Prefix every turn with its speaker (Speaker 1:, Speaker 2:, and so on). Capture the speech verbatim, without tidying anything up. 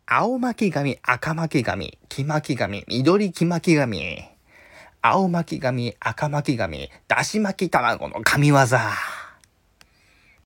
Speaker 1: 青巻紙、赤巻紙、黄巻紙、緑黄巻紙。青巻紙、赤巻紙、だし巻き卵の神業。